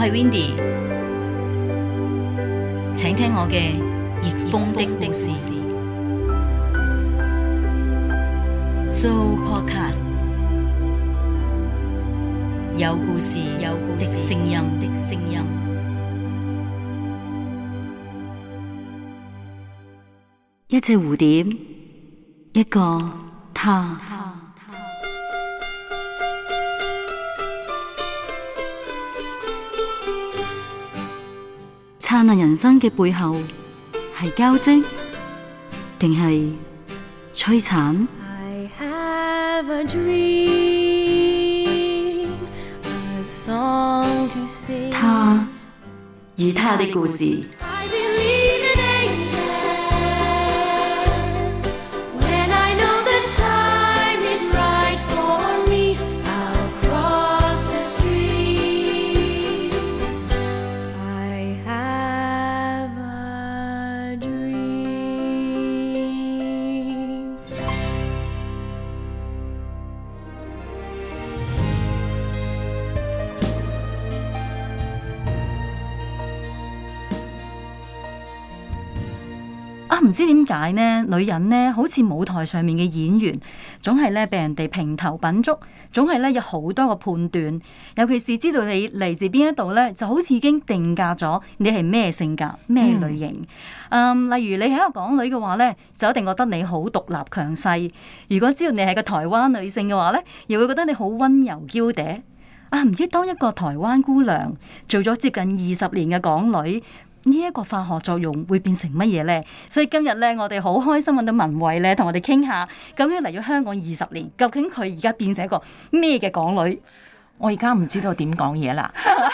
係 Windy， 請聽我嘅逆風的故事。So Podcast 有故事的聲音。一隻蝴蝶，一個他。燦爛人生嘅背後，係交織，定係摧殘？I have a dream, a song to sing. 他與他的故事。唔知點解呢？女人呢，好似舞台上面嘅演員，總係咧被人哋評頭品足，總係咧有好多個判斷。尤其是知道你嚟自邊一度咧，就好似已經定價咗你係咩性格、咩類型。例如你係一個港女嘅話咧，就一定覺得你好獨立強勢；如果知道你係個台灣女性嘅話咧，又會覺得你好溫柔嬌嗲。唔知當一個台灣姑娘做咗接近20年嘅港女，呢一個化學作用會變成乜嘢呢？所以今日咧，我哋好開心揾到文慧咧，同我哋傾下，究竟嚟咗香港20年，究竟佢而家變成一個咩嘅港女？ 我而家唔知道點講嘢啦，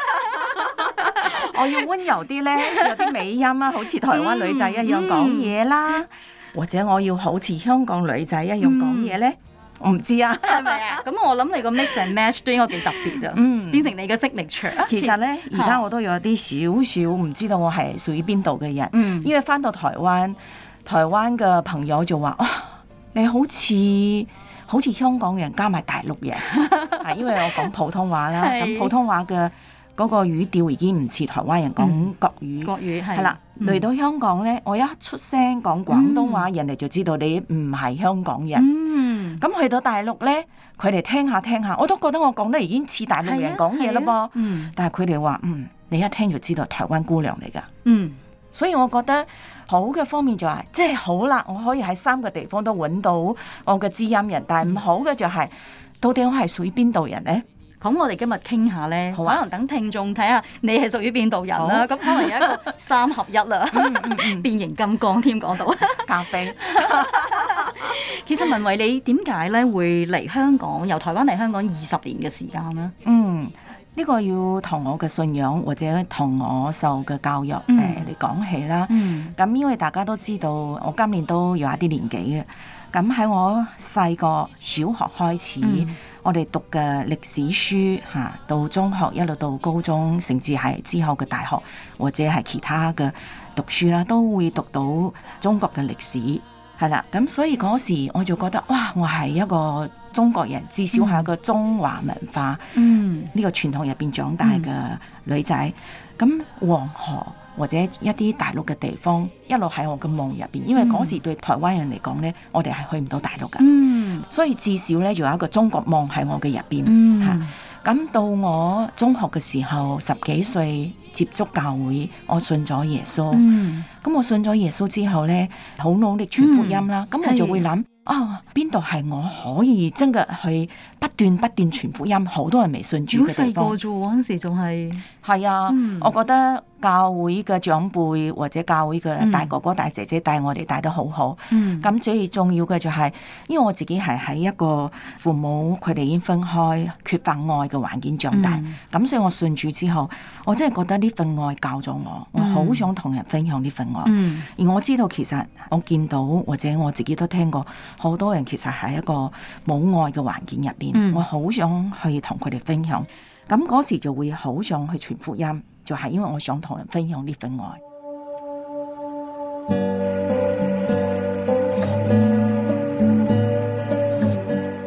我要溫柔啲咧，有啲美音啊，好似台灣女仔一樣講嘢啦，或者我要好似香港女仔一樣講嘢咧。我唔知啊， 係咪啊？咁我諗你個 mix and match 都應該幾特別啊，變成你嘅 signature。 其實咧，而家我都有啲少少唔知道我係屬於邊度嘅人，因為翻到台灣嘅朋友就話：你好似香港人加埋大陸人，係因為我講普通話啦，咁普通話嘅嗰個語調已經唔似台灣人講國語，係啦。嚟到香港咧，我一出聲講廣東話，人哋就知道你唔係香港人。咁去到大陸咧，佢哋聽下，我都覺得我講得已經似大陸人講嘢啦噃。但係佢哋話：你一聽就知道台灣姑娘嚟㗎。所以我覺得好嘅方面就係，即係好啦，我可以喺3個地方都揾到我嘅知音人。但係唔好嘅就係，到底我係屬於邊度人咧？ 咁我哋今日傾下咧，可能等聽眾睇下你係屬於邊度人啦。咁可能有一個3合1啦，變形金剛添講到咖啡。 其實文慧你點解咧會嚟香港，由台灣嚟香港20年嘅時間咧？ 呢個要同我嘅信仰或者同我受嘅教育嚟講起啦。咁因為大家都知道，我今年都有一啲年紀嘅。咁喺我細個小學開始，我哋讀嘅歷史書到中學一路到高中，甚至係之後嘅大學或者係其他嘅讀書啦，都會讀到中國嘅歷史，係啦。咁所以嗰時我就覺得，哇！我係一個中國人，至少係一個中華文化呢個傳統入邊長大嘅女仔。咁黃河或者一啲大陸嘅地方，一路喺我嘅夢入邊，因為嗰時對台灣人嚟講咧，我哋係去唔到大陸噶，所以至少咧就有一個中國夢喺我嘅入邊吓。咁到我中學嘅時候，10幾歲接觸教會，我信咗耶穌。咁我信咗耶穌之後咧，好努力傳福音啦。咁我就會諗，邊度係我可以真嘅去不斷傳福音，好多人未信主嘅地方。 好細個啫，嗰陣時仲係啊，我覺得教會嘅長輩或者教會嘅大哥哥大姐姐帶我哋帶得好好。咁最重要嘅就係，因為我自己係喺一個父母佢哋已經分開缺乏愛嘅環境長大，咁所以我信主之後，我真係覺得呢份愛教咗我好想同人分享呢份愛。而我知道其實我見到或者我自己都聽過，好多人其實喺一個冇愛嘅環境入邊，我好想去同佢哋分享。咁嗰時就會好想去傳福音，就係因為我想同人分享呢份愛。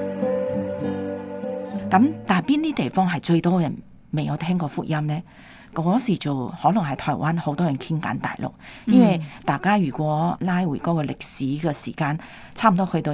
咁但係邊啲地方係最多人未有聽過福音呢？ 嗰時就可能係台灣好多人傾緊大陸，因為大家如果拉回嗰個歷史嘅時間，差唔多去到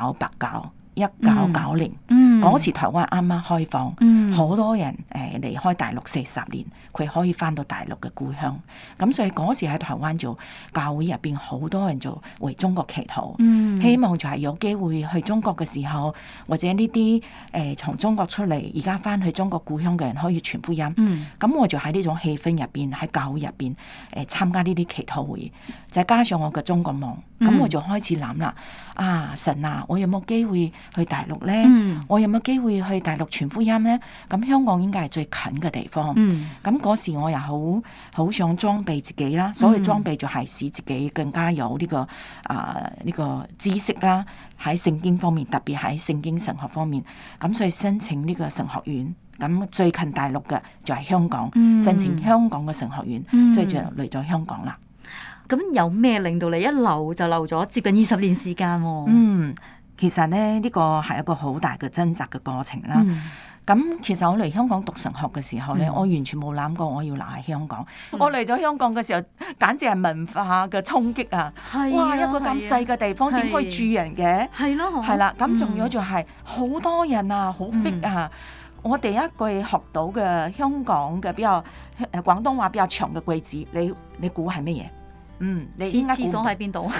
1990嗰時台灣啱啱開放，好多人離開大陸40年，佢可以翻到大陸嘅故鄉。咁所以嗰時喺台灣就教會入邊好多人就為中國祈禱，希望就係有機會去中國嘅時候，或者呢啲從中國出嚟而家翻去中國故鄉嘅人可以傳福音。咁我就喺呢種氣氛入邊，喺教會入邊參加呢啲祈禱會，就加上我嘅中國夢，咁我就開始諗啦，神啊，我有冇機會去大陸呢？我有冇機會去大陸傳福音呢？咁香港應該係最近嘅地方。咁嗰時我又好想裝備自己啦，所謂裝備就係使自己更加有呢個知識啦，喺聖經方面，特別喺聖經神學方面。咁所以申請呢個神學院，咁最近大陸嘅就係香港，申請香港嘅神學院，所以就嚟咗香港啦。 咁有咩令到你一留就留咗接近20年時間喎？ 其實咧呢個係一個好大嘅掙扎嘅過程啦。咁其實我嚟香港讀神學嘅時候咧，我完全冇諗過我要留喺香港。我嚟咗香港嘅時候，簡直係文化嘅衝擊啊！哇，一個咁細嘅地方點可以住人嘅？係啦，咁仲有就係好多人啊，好逼啊！我第一句學到嘅香港嘅比較廣東話比較長嘅句子，你估係乜嘢？你應該廁所喺邊度？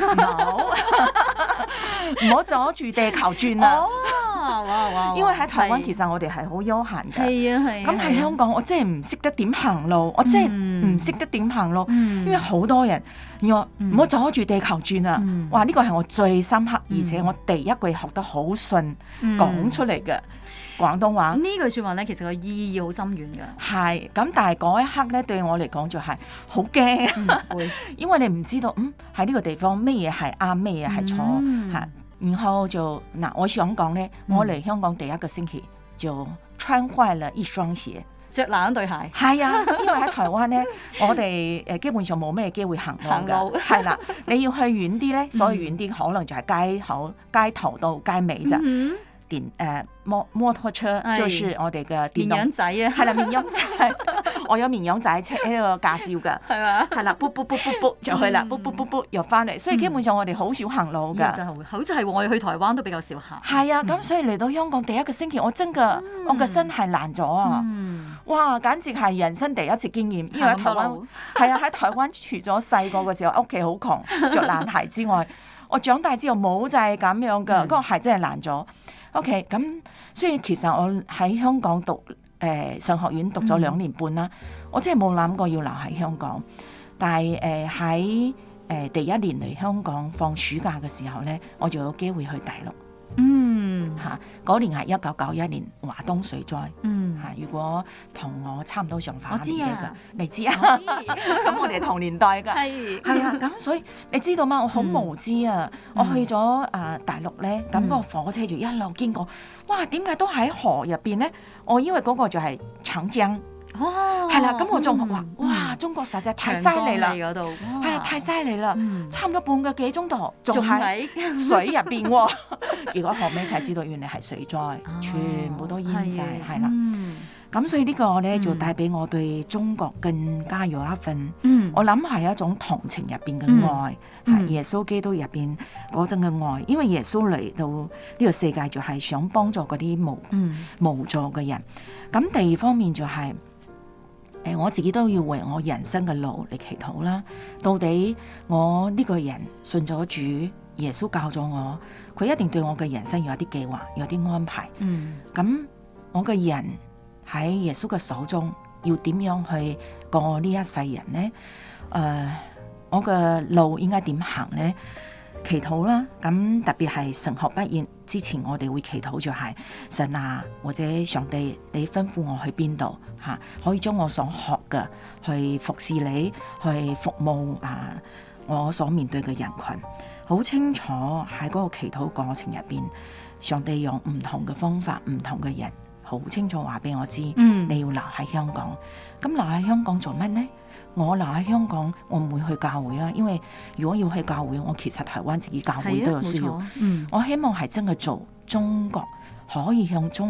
唔好阻住地球轉啊！因為喺台灣其實我哋係好悠閒嘅，咁喺香港我真係唔識得點行路，我真係唔識得點行路，因為好多人要唔好阻住地球轉啊！哇！呢個係我最深刻，而且我第一句學得好順講出嚟嘅廣東話。 呢句説話咧，其實個意義好深遠嘅。 係咁，但係嗰一刻咧，對我嚟講就係好驚，因為你唔知道喺呢個地方咩嘢係啱，咩嘢係錯嚇。然後就我想講咧，我嚟香港第一個星期就穿壞了一雙鞋， 着爛對鞋。係啊，因為喺台灣咧，我哋基本上冇咩機會行路㗎，係啦，你要去遠啲咧，所以遠啲可能就係街頭到街尾咋。摩托車就是我哋嘅電動綿羊仔啊， 係啦，綿羊仔，我有綿羊仔車呢個駕照㗎，係嘛，係啦，卜就去啦，卜又翻嚟，所以基本上我哋好少行路㗎。 好似係我哋去台灣都比較少行。 係啊，咁所以嚟到香港第一個星期，我真嘅我個身係爛咗啊！哇，簡直係人生第一次經驗，因為喺台灣係啊，喺台灣除咗細個嘅時候屋企好窮，着爛鞋之外，我長大之後冇就係咁樣㗎，嗰個鞋真係爛咗。OK， 咁所以其實我喺香港讀神學院讀咗2年半啦，我真係冇諗過要留喺香港。但係喺第一年嚟香港放暑假嘅時候咧，我就有機會去大陸。嗰年係1991年華東水災。如果同我差唔多上下年紀㗎，你知啊？咁我哋同年代㗎。係啊，咁所以你知道嗎？我好無知啊！我去咗大陸咧，咁個火車就一路經過，哇！點解都喺河入邊咧？我因為嗰個就係長江。係啦，咁我仲話哇，中國實在太犀利啦，係啦，太犀利啦，差唔多半個幾鐘頭仲喺水入邊喎。結果後尾才知道原來係水災，全部都淹晒，係啦。咁所以呢個咧就帶俾我對中國更加有一份，我諗係一種同情入邊嘅愛，耶穌基督入邊嗰種嘅愛，因為耶穌嚟到呢個世界就係想幫助嗰啲無助嘅人。咁第二方面就係。我自己都要為我人生嘅路嚟祈禱啦。到底我呢個人信咗主，耶穌教咗我，佢一定對我嘅人生有啲計劃，有啲安排。咁我嘅人喺耶穌嘅手中，要點樣去過呢一世人呢？我嘅路應該點行呢？祈禱啦，咁特別係神學畢業之前，我哋會祈禱就係神啊，或者上帝，你吩咐我去邊度嚇，可以將我所學嘅去服侍你，去服務我所面對嘅人群。好清楚喺嗰個祈禱過程入邊，上帝用唔同嘅方法、唔同嘅人，好清楚話俾我知，你要留喺香港。咁留喺香港做乜呢？我留喺香港，我唔會去教會啦，因為如果要去教會，我其實台灣自己教會都有需要。我希望係真係做中國，可以向中國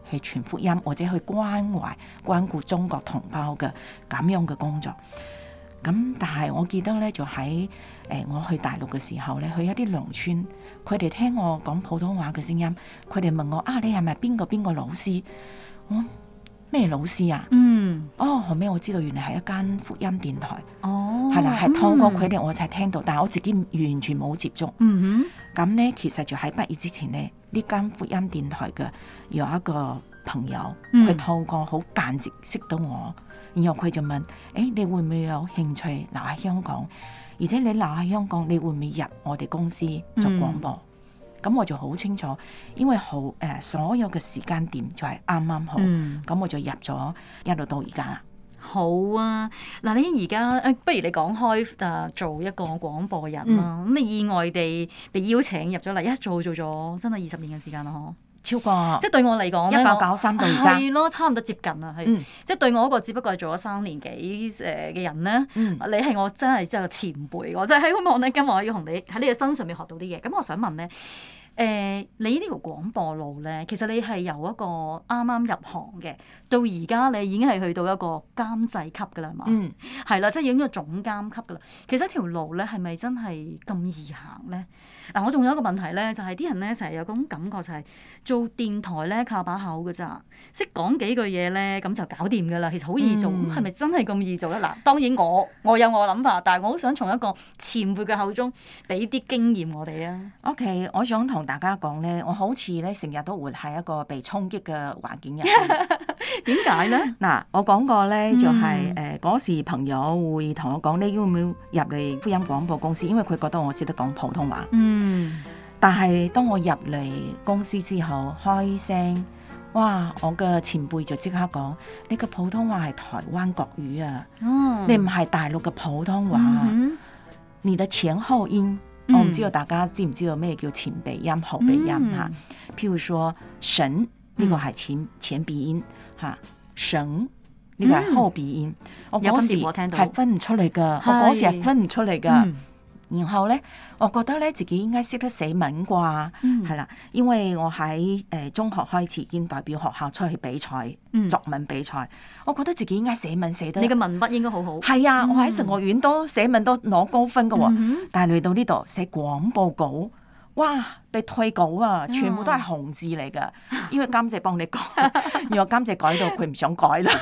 去傳福音，或者去關懷關顧中國同胞嘅咁樣嘅工作。咁但係我記得咧，就喺我去大陸嘅時候咧，去一啲農村，佢哋聽我講普通話嘅聲音，佢哋問我你係咪邊個老師？我咩老師啊？後尾我知道原來係一間福音電台。係啦，係透過佢哋我才聽到，但係我自己完全冇接觸。咁咧，其實就喺畢業之前咧，呢間福音電台嘅有一個朋友，佢透過好間接識到我。然後佢就問：你會唔會有興趣留喺香港？而且你留喺香港，你會唔會入我哋公司做廣播？咁我就好清楚，因為所有嘅時間點就係啱啱好。咁我就入咗，一路到而家啦。 好啊，嗱，你而家不如你講開做一個廣播人啦。咁你意外地被邀請入咗嚟，一做咗真係20年嘅時間啦，嗬。 超過， 即係對我嚟講咧 ，1993到而家係咯，差唔多接近啦，係。即係對我嗰個只不過係做咗3年幾嘅人咧，你係我真係個前輩，我真係希望咧今日我要同你喺你嘅身上面學到啲嘢。咁我想問咧，你呢條廣播路咧，其實你係由一個啱啱入行嘅，到而家你已經係去到一個監製級㗎啦嘛，係啦，即係已經一個總監級㗎啦。其實條路咧係咪真係咁易行咧？嗱，我仲有一個問題咧，就係啲人咧成日有種感覺就係做電台咧靠把口㗎咋，識講幾句嘢咧咁就搞掂㗎啦。其實好易做，咁係咪真係咁易做咧？嗱，當然我有我諗法，但係我好想從一個前輩嘅口中俾啲經驗我哋啊。 OK， 我想同大家講咧，我好似咧成日都活喺一個被衝擊嘅環境入面。 點解咧？ 嗱，我講過咧，就係嗰時朋友會同我講，你要唔要入嚟福音廣播公司？因為佢覺得我識得講普通話。但係當我入嚟公司之後開聲，哇！我嘅前輩就即刻講：你嘅普通話係台灣國語啊，你唔係大陸嘅普通話。你的前後音，我唔知道大家知唔知道咩叫前鼻音、後鼻音嚇？譬如說神呢個係前鼻音嚇，神呢個係後鼻音。我嗰時係分唔出嚟㗎，我嗰時係分唔出嚟㗎。然後咧，我覺得咧自己應該識得寫文啩，係啦，因為我喺中學開始已經代表學校出去比賽，作文比賽，我覺得自己應該寫文寫得。 你嘅文筆應該好好。係啊，我喺神學院都寫文都攞高分㗎喎，但係嚟到呢度寫廣播稿，哇！被退稿啊，全部都係紅字嚟㗎，因為監製幫你改，然後監製改到佢唔想改啦。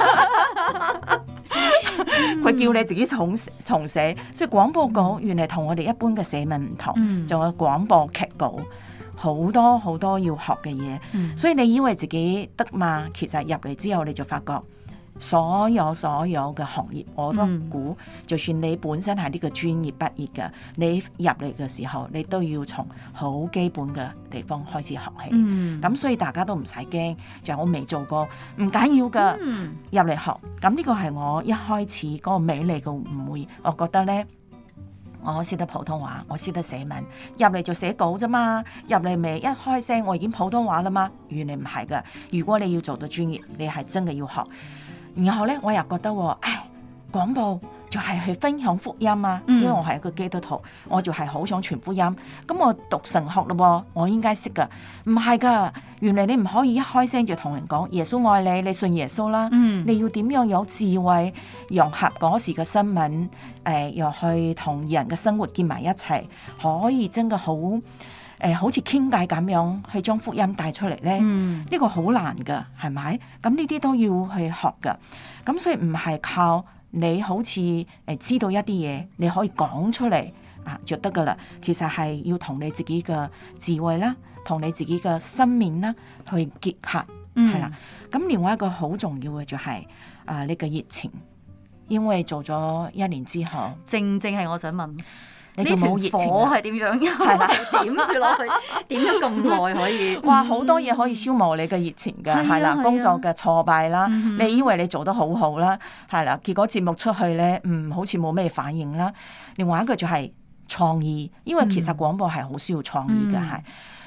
佢叫你自己重寫，所以廣播稿原來同我哋一般嘅寫文唔同，仲有廣播劇稿，好多好多要學嘅嘢。所以你以為自己得嘛？其實入嚟之後你就發覺，所有嘅行業我都估，就算你本身係呢個專業畢業嘅，你入嚟嘅時候，你都要從好基本嘅地方開始學起。咁所以大家都唔使驚，就係我未做過，唔緊要噶，入嚟學。咁呢個係我一開始嗰個美麗嘅誤會。我覺得呢，我識得普通話，我識得寫文，入嚟就寫稿啫嘛，入嚟咪一開聲，我已經普通話啦嘛。原來唔係噶，如果你要做到專業，你係真嘅要學。然後咧，我又覺得廣播就係去分享福音啊，因為我係一個基督徒，我就係好想傳福音。咁我讀神學咯，我應該識噶。唔係噶，原來你唔可以一開聲就同人講耶穌愛你，你信耶穌啦。你要點樣有智慧，融合嗰時嘅新聞，又去同人嘅生活結埋一齊，可以真嘅好似傾偈咁樣去將福音帶出嚟咧，呢個好難噶，係咪？咁呢啲都要去學噶。咁所以唔係靠你好似知道一啲嘢，你可以講出嚟就得噶啦。其實係要同你自己嘅智慧啦，同你自己嘅生命啦去結合，係啦。咁另外一個好重要嘅就係你嘅熱情，因為做咗1年之後， 正係我想問。 你仲冇熱情？ 火係點樣？係啦，點住落去，點咗咁耐可以？ 哇，好多嘢可以消磨你嘅熱情㗎，係啦，工作嘅挫敗啦，你以為你做得好好啦，係啦，結果節目出去咧，好似冇咩反應啦。另外一個就係創意，因為其實廣播係好需要創意嘅，係。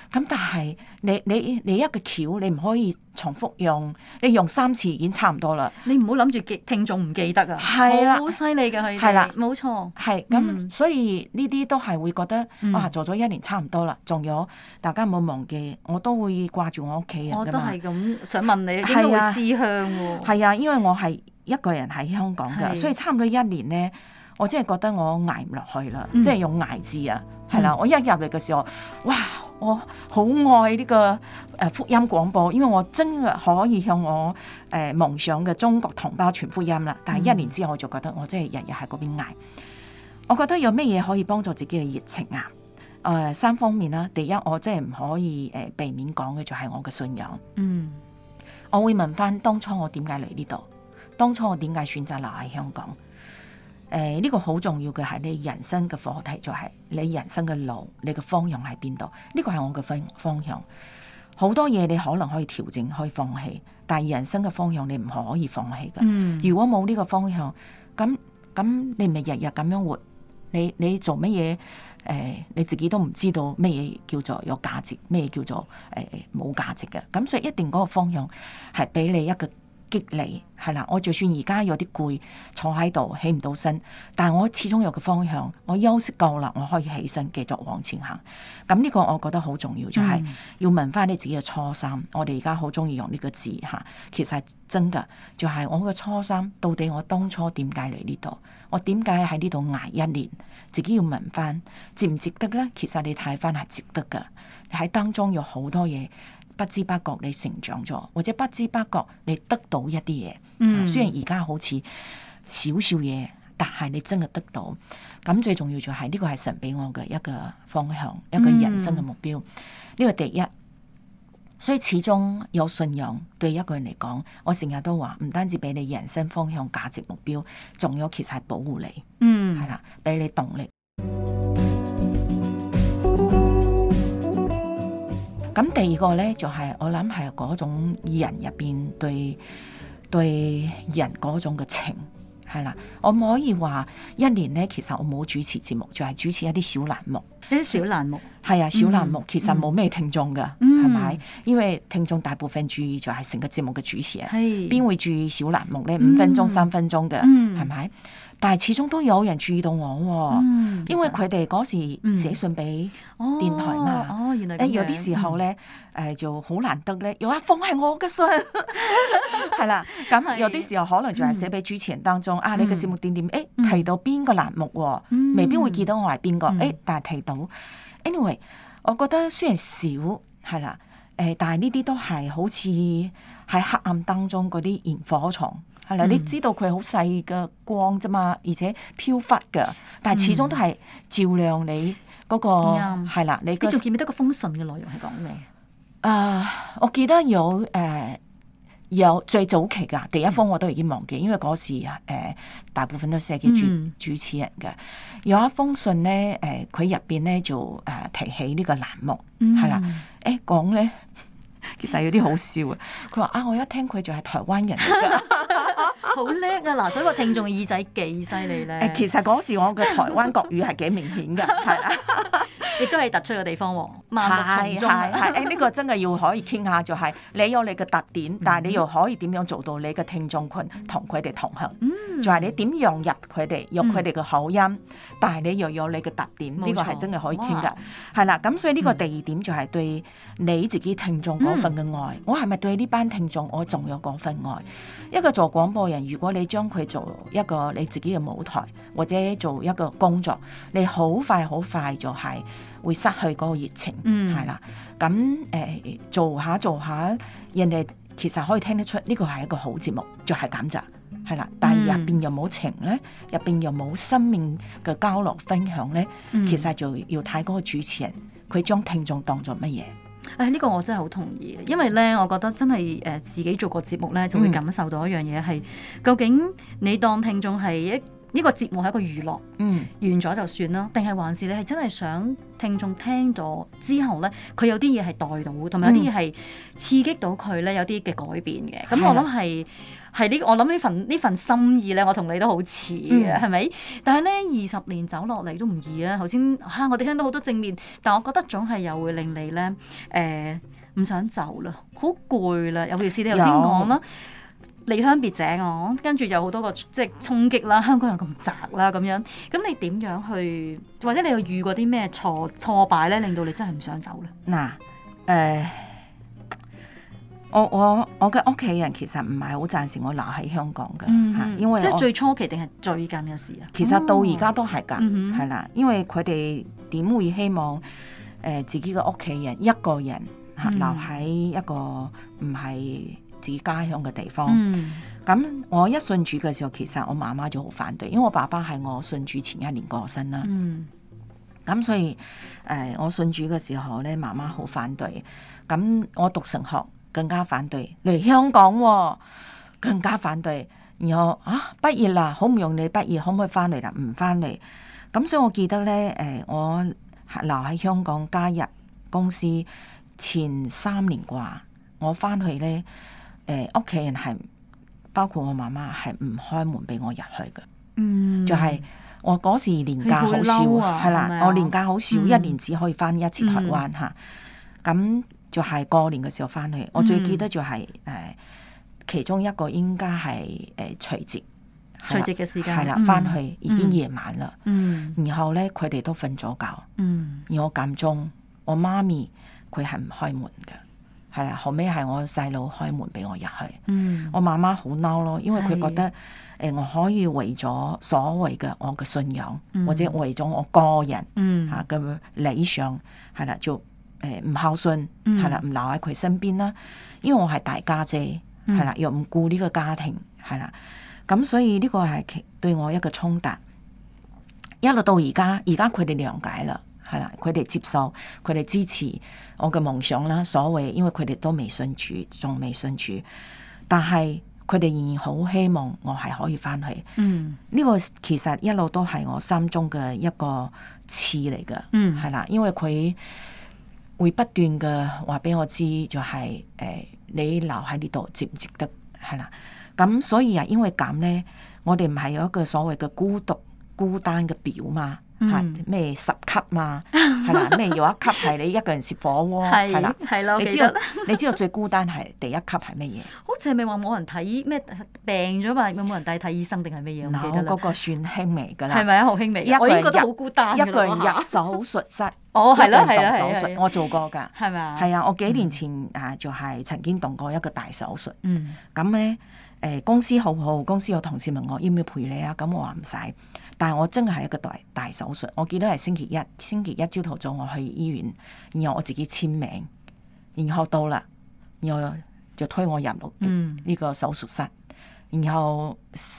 咁但係你一個橋，你唔可以重複用，你用3次已經差唔多啦。 你唔好諗住聽眾唔記得啊， 係啦， 好犀利㗎佢哋， 係啦， 冇錯。 係咁，所以呢啲都係會覺得做咗1年差唔多啦。仲有大家唔好忘記，我都會掛住我屋企人㗎嘛。 我都係咁想問你，應該會思鄉喎。 係啊，因為我係一個人喺香港㗎，所以差唔多1年咧，我真係覺得我捱唔落去啦，即係用捱字啊，係啦。我一入嚟嘅時候，哇！我好愛呢個福音廣播，因為我真係可以向我夢想嘅中國同胞傳福音啦。但係1年之後，我就覺得我真係日日喺嗰邊捱。我覺得有咩嘢可以幫助自己嘅熱情啊？3方面啦。第一，我真係唔可以避免講嘅就係我嘅信仰。我會問翻當初我點解嚟呢度，當初我點解選擇留喺香港？呢個好重要嘅係你人生嘅課題，就係你人生嘅路，你嘅方向喺邊度？呢個係我嘅方向。好多嘢你可能可以調整，可以放棄，但係人生嘅方向你唔可以放棄嘅。如果冇呢個方向，咁你咪日日咁樣活，你做乜嘢？你自己都唔知道咩嘢叫做有價值，咩叫做冇價值嘅。咁所以一定嗰個方向係俾你一個激勵，係啦。我就算而家有啲攰，坐喺度起唔到身，但係我始終有個方向，我休息夠啦，我可以起身繼續往前行。咁呢個我覺得好重要，就係要問翻你自己嘅初心。我哋而家好中意用呢個字吓，其實係真噶，就係我嘅初心。到底我當初點解嚟呢度？我點解喺呢度捱1年？自己要問翻，值唔值得呢？其實你睇翻係值得噶。喺當中有好多嘢。不知不覺你成長咗，或者不知不覺你得到一啲嘢。雖然而家好似少少嘢，但係你真係得到。咁最重要就係呢個係神俾我嘅一個方向，一個人生嘅目標。呢個第一。所以始終有信仰對一個人嚟講，我成日都話唔單止俾你人生方向、價值、目標，仲有其實係保護你。係啦，俾你動力。咁第二個咧，就係我諗係嗰種人入邊對人嗰種嘅情，係啦。我唔可以話1年咧，其實我冇主持節目，就係主持一啲小欄目。 啲小欄目係啊，小欄目其實冇咩聽眾噶，係咪？因為聽眾大部分注意就係成個節目嘅主持人，邊會注意小欄目咧？5分鐘、3分鐘嘅，係咪？但係始終都有人注意到我，因為佢哋嗰時寫信俾電台嘛。 原來有啲時候咧，就好難得咧，有一封係我嘅信，係啦。咁有啲時候可能就係寫俾主持人當中啊，你嘅節目點提到邊個欄目，未必會記得我係邊個，但係提到。Anyway， 我覺得雖然少係啦，但係呢啲都係好似喺黑暗當中嗰啲螢火蟲。係啦，你知道佢好細嘅光啫嘛，而且飄忽嘅，但係始終都係照亮你嗰個係啦。你仲記唔記得個封信嘅內容係講咩？ 我記得有最早期㗎第一封我都已經忘記，因為嗰時大部分都寫給主持人嘅。有一封信咧，佢入邊咧就提起呢個欄目係啦，講咧。其實有啲好笑啊！佢話我一聽佢就係台灣人嚟㗎， 好叻啊！嗱，所以個聽眾嘅耳仔幾犀利咧。 其實嗰時我嘅台灣國語係幾明顯㗎，係啦， 亦都係突出嘅地方喎。萬綠叢中係呢個真係要可以傾下，就係你有你嘅特點，但係你又可以點樣做到你嘅聽眾群同佢哋同行？就係你點融入佢哋，用佢哋嘅口音，但係你又有你嘅特點，呢個係真係可以傾㗎。係啦，咁所以呢個第二點就係對你自己聽眾嗰份嘅愛。我係咪對呢班聽眾我仲有嗰份愛？一個做廣播人，如果你將佢做一個你自己嘅舞台，或者做一個工作，你好快就係會失去嗰個熱情。係啦，咁做下，人哋其實可以聽得出呢個係一個好節目，就係咁咋。係啦，但係入邊又冇情咧，入邊又冇生命嘅交流分享咧，其實就要睇嗰個主持人佢將聽眾當作乜嘢。 呢個我真係好同意，因為咧，我覺得真係自己做個節目咧，就會感受到一樣嘢係，究竟你當聽眾係呢個節目係一個娛樂， 嗯， 完咗就算啦，定係還是你係真係想聽眾聽咗之後咧，佢有啲嘢係帶到，同埋有啲嘢係刺激到佢咧，有啲嘅改變嘅。咁我諗係呢，我諗呢份心意咧，我同你都好似嘅，係咪？但係咧20年走落嚟都唔易啊！頭先我哋聽到好多正面，但我覺得總係又會令你咧唔想走啦，好攰啦，尤其是你頭先講啦。離鄉別井跟住有好多個即係衝擊啦，香港又咁窄啦咁樣，咁你點樣去，或者你又遇過啲咩挫敗咧，令到你真係唔想走咧？ 嗱，我嘅屋企人其實唔係好贊成我留喺香港嘅，因為即係最初期定係最近嘅事啊？ 其實到而家都係㗎，係啦，因為佢哋點會希望自己嘅屋企人一個人留喺一個唔係自己家鄉嘅地方，咁我一信主嘅時候，其實我媽媽就好反對，因為我爸爸係我信主前1年過身啦。咁所以我信主嘅時候咧，媽媽好反對。咁我讀神學更加反對，嚟香港更加反對。然後畢業啦，好唔容易畢業，可唔可以翻嚟啦？唔翻嚟。咁所以我記得咧，我留喺香港加入公司前3年啩，我翻去咧。屋企人係包括我媽媽係唔開門俾我入去嘅，就係我嗰時年假好少，係啦，我年假好少，1年只可以翻1次台灣嚇。咁就係過年嘅時候翻去，我最記得就係其中一個應該係除夕嘅時間， 係啦，翻去已經夜晚啦，然後咧佢哋都瞓咗覺，而我間中我媽咪佢係唔開門嘅。係啦，後尾係我細佬開門俾我入去。我媽媽好嬲咯，因為佢覺得我可以為咗所謂嘅我嘅信仰，或者為咗我個人嘅理想，係啦，就唔孝順，係啦，唔留喺佢身邊啦。因為我係大家姐，係啦，又唔顧呢個家庭，係啦，咁所以呢個係對我一個衝突。一路到而家佢哋諒解啦。係啦，佢哋接受，佢哋支持我嘅夢想啦。所謂，因為佢哋都未信主，仲未信主，但係佢哋仍然好希望我係可以翻去。呢個其實一路都係我心中嘅一個刺嚟嘅。係啦，因為佢會不斷嘅話俾我知，就係你留喺呢度值唔值得？係啦，咁所以因為咁咧，我哋唔係有一個所謂嘅孤單嘅表嘛。咩10級嘛，係啦，咩有一級係你一個人食火鍋，係啦， 係咯， 你知道最孤單係第1級係乜嘢？ 好似係咪話冇人睇咩病咗嘛？有冇人帶睇醫生定係乜嘢？我唔記得啦。 嗰個算輕微㗎啦， 係咪啊？好輕微，我已經覺得好孤單。 一個人入手術室， 係啦， 手術我做過㗎， 係咪啊？ 係啊，我幾年前就係曾經動過一個大手術。咁咧公司好好，公司有同事問我要唔要陪你啊？咁我話唔使。但係我真係一個大手術，我記得係星期一朝頭早我去醫院，然後我自己簽名，然後到啦，然後就推我入呢個手術室，然後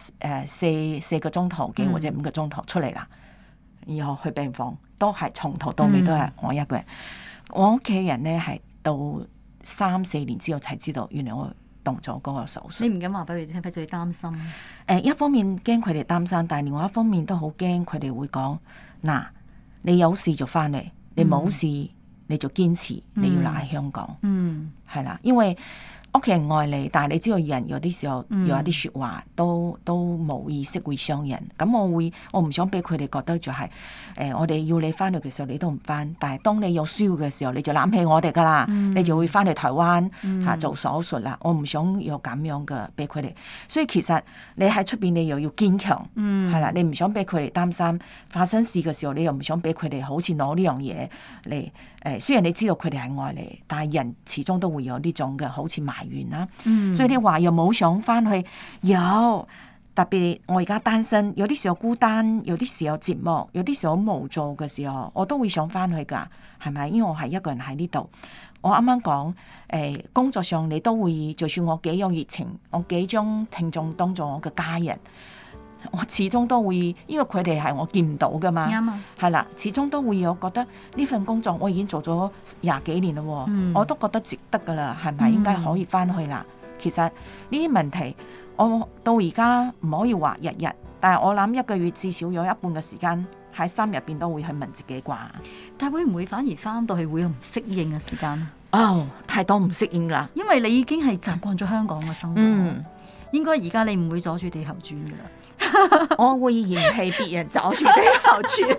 4個鐘頭幾或者5個鐘頭出嚟啦，然後去病房都係從頭到尾都係我一個人。我屋企人咧係到3-4年之後才知道，原來我動咗嗰個手術。 你唔敢話俾佢哋聽，費事佢擔心。 一方面驚佢哋擔心，但係另外一方面都好驚佢哋會講：嗱，你有事就翻嚟，你冇事你就堅持你要留喺香港。係啦，因為屋企人愛你，但係你知道人有啲時候有一啲説話都冇意識會傷人。咁我唔想俾佢哋覺得就係我哋要你翻去嘅時候你都唔翻，但係當你有需要嘅時候你就攬起我哋噶啦，你就會翻嚟台灣做手術啦。我唔想有咁樣嘅俾佢哋，所以其實你喺出邊你又要堅強，係啦，你唔想俾佢哋擔心發生事嘅時候，你又唔想俾佢哋好似攞呢樣嘢嚟雖然你知道佢哋係愛你，但係人始終都會有呢種嘅好似埋怨啦。所以你話又冇想翻去，有特別我而家單身，有啲時候孤單，有啲時候寂寞，有啲時候無助嘅時候，我都會想翻去噶，係咪？因為我係一個人喺呢度。我啱啱講工作上你都會，就算我幾有熱情，我幾將聽眾當做我嘅家人，我始終都會，因為佢哋係我見唔到噶嘛，係啦，始終都會有覺得呢份工作我已經做咗20幾年啦，我都覺得值得噶啦，係咪應該可以翻去啦？其實呢啲問題我到而家唔可以話日日但係我諗一個月至少有一半嘅時間喺心入邊都會去問自己啩。 但係會唔會反而翻到去會有唔適應嘅時間？ 哦，太多唔適應啦， 因為你已經係習慣咗香港嘅生活。應該而家你唔會阻住地球轉噶啦。 我會嫌棄別人阻住地球轉。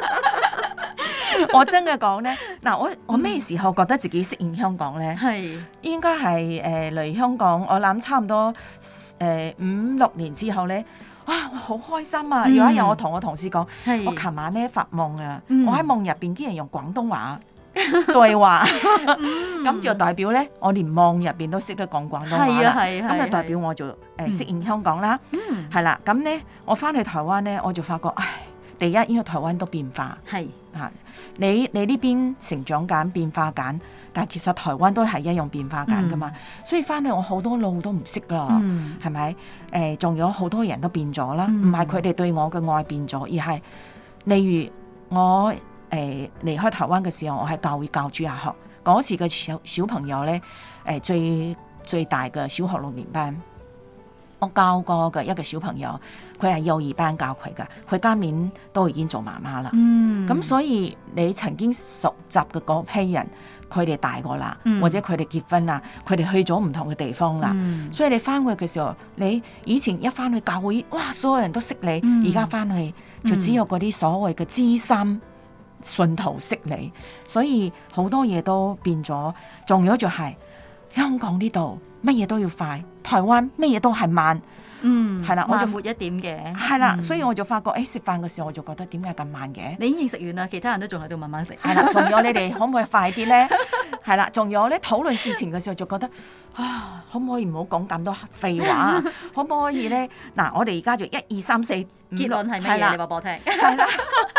我真嘅講咧，嗱，我咩時候覺得自己適應香港咧？ 係應該係嚟香港，我諗差唔多5-6年之後咧，哇！我好開心啊！有一日我同我同事講，我琴晚咧發夢啊，我喺夢入邊竟然用廣東話對話，咁就代表咧，我連夢入邊都識得講廣東話啦。咁就代表我就適應香港啦。係啦，咁咧我翻去台灣咧，我就發覺，第一，因為台灣都變化， 係嚇你呢邊成長緊變化緊，但係其實台灣都係一樣變化緊噶嘛。所以翻去我好多路都唔識啦，係咪？仲有好多人都變咗啦，唔係佢哋對我嘅愛變咗，而係例如我離開台灣嘅時候，我喺教會教主日學嗰時嘅小朋友咧，最大嘅小學6年班。我教過嘅一個小朋友，佢係幼兒班教佢㗎，佢今年都已經做媽媽啦。咁所以你曾經熟習嘅嗰批人，佢哋大個啦，或者佢哋結婚啦，佢哋去咗唔同嘅地方啦。所以你翻去嘅時候，你以前一翻去教會，哇，所有人都識你，而家翻去就只有嗰啲所謂嘅資深信徒識你，所以好多嘢都變咗。仲有就係香港呢度乜嘢都要快，台灣乜嘢都係慢，係啦，我就慢活一點嘅， 係啦，所以我就發覺，食飯嘅時候我就覺得點解咁慢嘅？ 你已經食完啦，其他人都仲喺度慢慢食， 係啦，仲有你哋可唔可以快啲咧？係啦，仲有咧討論事情嘅時候就覺得可唔可以唔好講咁多廢話？可唔可以咧？嗱，我哋而家就1、2、3、4， 結論係乜嘢？你話俾我聽。 係啦。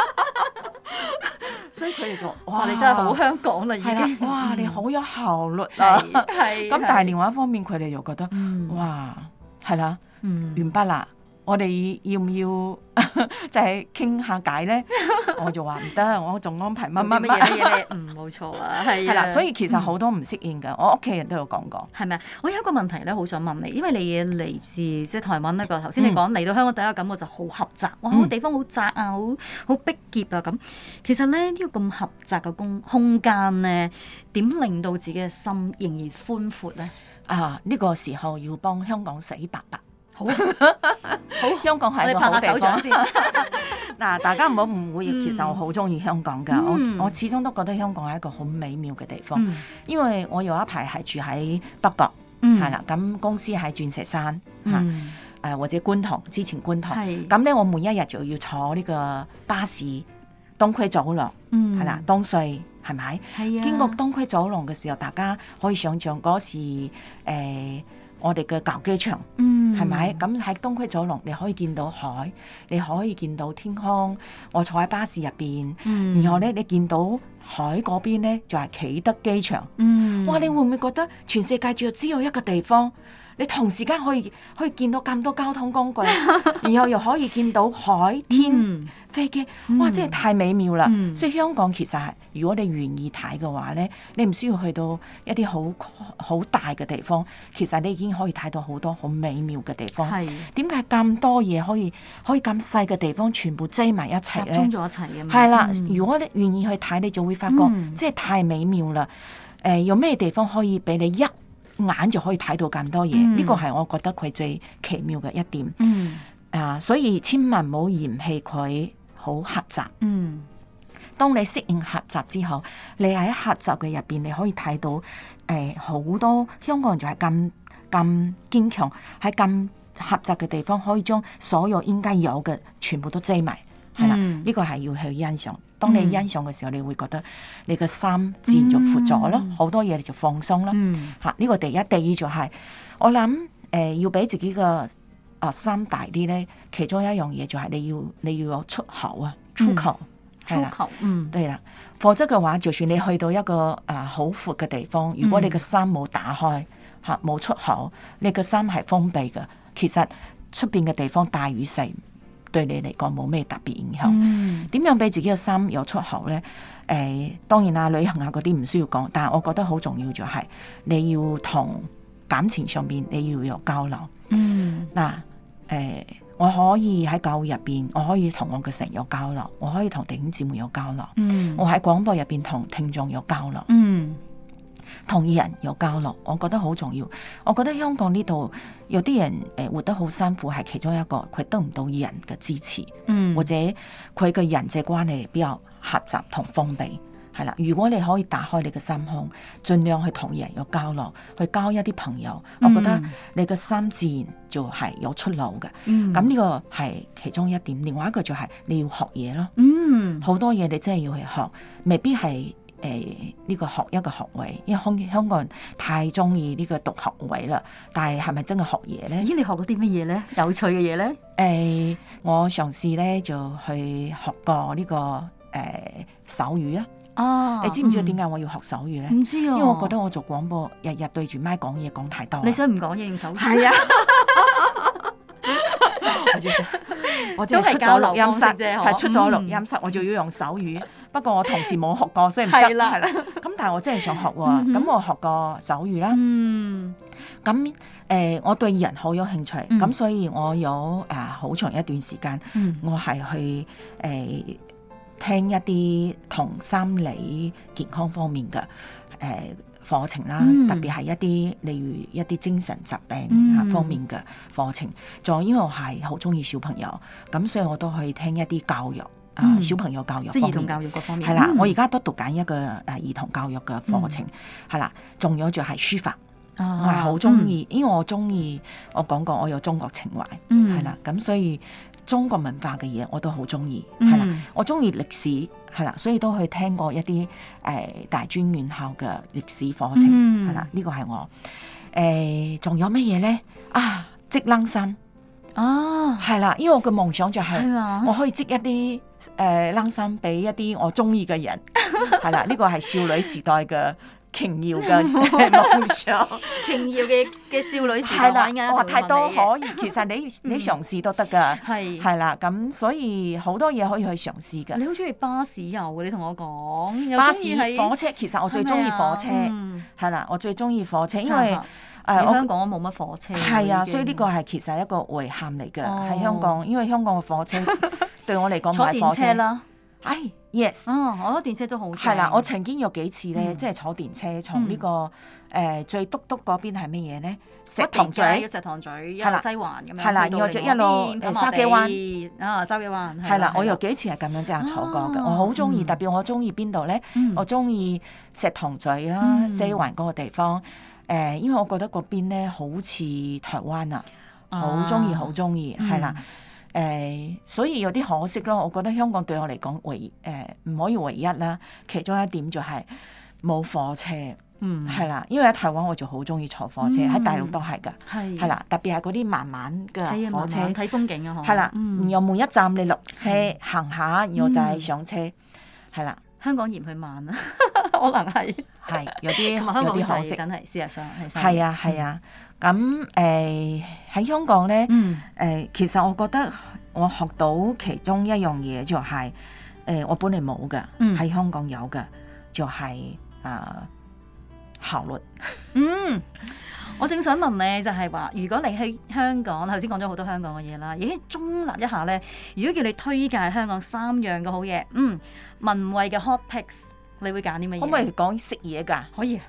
所以佢哋就哇， 你真係好香港啦，已經。 哇，你好有效率啊！ 係。 咁但係另外一方面，佢哋又覺得哇，係啦，完畢啦。我哋要唔要就係傾下偈咧？我就話唔得，我仲安排乜嘢？冇錯啊，係啦。所以其實好多唔適應㗎，我屋企人都有講過。 係咪啊？我有一個問題咧，好想問你，因為你嚟自即係台灣呢個頭先你講嚟到香港第一個感覺就好狹窄，哇！個地方好窄啊，好逼狹啊咁。其實咧呢個咁狹窄嘅空間咧，點令到自己嘅心仍然寬闊咧？ 呢個時候要幫香港洗白白。好，香港係一個好地方。 嗱，大家唔好誤會，其實我好中意香港㗎。我始終都覺得香港係一個好美妙嘅地方，因為我有一排係住喺北角，係啦，咁公司喺鑽石山或者觀塘，之前觀塘，咁咧我每一日就要坐呢個巴士東區走廊，係啦，東隧係咪？經過東區走廊嘅時候，大家可以想象嗰時我哋嘅舊機場，係咪？咁喺東區走廊，你可以見到海，你可以見到天空。我坐喺巴士入邊，然後咧你見到海嗰邊咧就係啟德機場。哇！你會唔會覺得全世界只有一個地方，你同時間可以見到咁多交通工具，然後又可以見到海天飛機，哇！真係太美妙啦！所以香港其實係，如果你願意睇嘅話咧，你唔需要去到一啲好大嘅地方，其實你已經可以睇到好多好美妙嘅地方。點解咁多嘢可以咁細嘅地方全部擠埋一齊咧？ 集中咗一齊嘅嘛。 係啦，如果你願意去睇，你就會發覺真係太美妙啦！有咩地方可以俾你一眼就可以睇到咁多嘢？呢個係我覺得佢最奇妙嘅一點。所以千萬唔好嫌棄佢好狹窄。當你適應狹窄之後，你喺狹窄嘅入邊，你可以睇到好多香港人就係咁堅強，喺咁狹窄嘅地方可以將所有應該有嘅全部都擠埋。係啦，呢個係要去欣賞。當你欣賞嘅時候，你會覺得你個心自然就闊咗咯，好多嘢你就放鬆啦。呢個第一，第二就係我諗要俾自己個心大啲咧。其中一樣嘢就係你要有出口啊，出口，對啦。否則嘅話，就算你去到一個好闊嘅地方，如果你個心冇打開冇出口，你個心係封閉嘅，其實出邊嘅地方大與細，對你嚟講冇咩特別影響。點樣俾自己嘅心有出口呢？當然啦，旅行啊嗰啲唔需要講，但係我覺得好重要就係你要同感情上邊你要有交流。 我可以喺教會入邊，我可以同我嘅神有交流，我可以同弟兄姊妹有交流。我喺廣播入邊同聽眾有交流。同人有交流，我覺得好重要。我覺得香港呢度有啲人活得好辛苦，係其中一個佢得唔到人嘅支持，或者佢嘅人際關係比較狹窄同封閉。係啦，如果你可以打開你嘅心胸，盡量去同人有交流，去交一啲朋友，我覺得你嘅心自然就係有出路嘅。咁呢個係其中一點。另外一個就係你要學嘢咯。好多嘢你真係要去學，未必係呢個學一個學位，因為香港人太中意呢個讀學位啦。但係係咪真係學嘢咧？ 咦，你學過啲乜嘢咧？有趣嘅嘢咧？ 我嘗試咧就去學過呢個手語啊。你知唔知點解我要學手語咧？ 唔知啊， 因為我覺得我做廣播日日對住麥講嘢講太多。 你想唔講嘢用手語？ 係啊，我即係出咗錄音室，係出咗錄音室，我就要用手語。不過我同時冇學過，所以唔得。係啦。咁但係我真係想學喎。咁我學過手語啦。咁我對人好有興趣，咁所以我有好長一段時間，我係去聽一啲同心理健康方面嘅課程啦，特別係一啲例如一啲精神疾病方面嘅課程。仲因為我係好中意小朋友，咁所以我都去聽一啲教育小朋友教育方面， 即係兒童教育嗰方面。 係啦，我而家都讀緊一個兒童教育嘅課程，係啦。仲有就係書法，我係好中意，因為我中意，我講過我有中國情懷，係啦，咁所以中國文化嘅嘢我都好中意，係啦，我中意歷史，係啦，所以都去聽過一啲大專院校嘅歷史課程，係啦，呢個係我仲有乜嘢咧？織冷衫係啦，因為我嘅夢想就係我可以織一啲冷衫俾一啲我中意嘅人，係啦，呢個係少女時代嘅瓊瑤嘅夢想， 瓊瑤嘅少女時代係啦，太多可以，其實你嘗試都得噶，係啦，咁所以好多嘢可以去嘗試噶。 你好中意巴士遊嘅，你同我講巴士火車，其實我最中意火車，係啦，我最中意火車，因為香港冇乜火車， 係啊，所以呢個係其實一個遺憾嚟嘅喺香港，因為香港嘅火車對我嚟講唔係火車啦。Yes， 我覺得電車都好正。 係啦，我曾經有幾次咧，即係坐電車從呢個最篤篤嗰邊係乜嘢咧？石塘咀， 石塘咀，一路西環咁樣， 係啦，然後就一路筲箕灣， 筲箕灣係啦，我有幾次係咁樣這樣坐過嘅，我好中意，特別我中意邊度咧？我中意石塘咀啦，西環嗰個地方，因為我覺得嗰邊咧好似台灣啊，好中意，係啦。所以有啲可惜咯，我覺得香港對我嚟講唔可以唯一啦。其中一點就係冇火車，係啦，因為喺台灣我就好中意坐火車，喺大陸都係噶，係啦，特別係嗰啲慢慢嘅火車睇風景啊， 係啦，然後每一站你落車行下，然後就係上車，係啦。 香港嫌佢慢啊，可能係有啲可惜， 真係事實上係啊。咁喺香港咧，其實我覺得我學到其中一樣嘢就係我本嚟冇嘅，喺香港有嘅就係效率。 我正想問你，就係話，如果你喺香港，頭先講咗好多香港嘅嘢啦，已經中立一下咧。如果叫你推介香港3樣嘅好嘢，文慧嘅 hot picks，你會揀啲乜嘢？ 可唔可以講食嘢㗎？ 可以。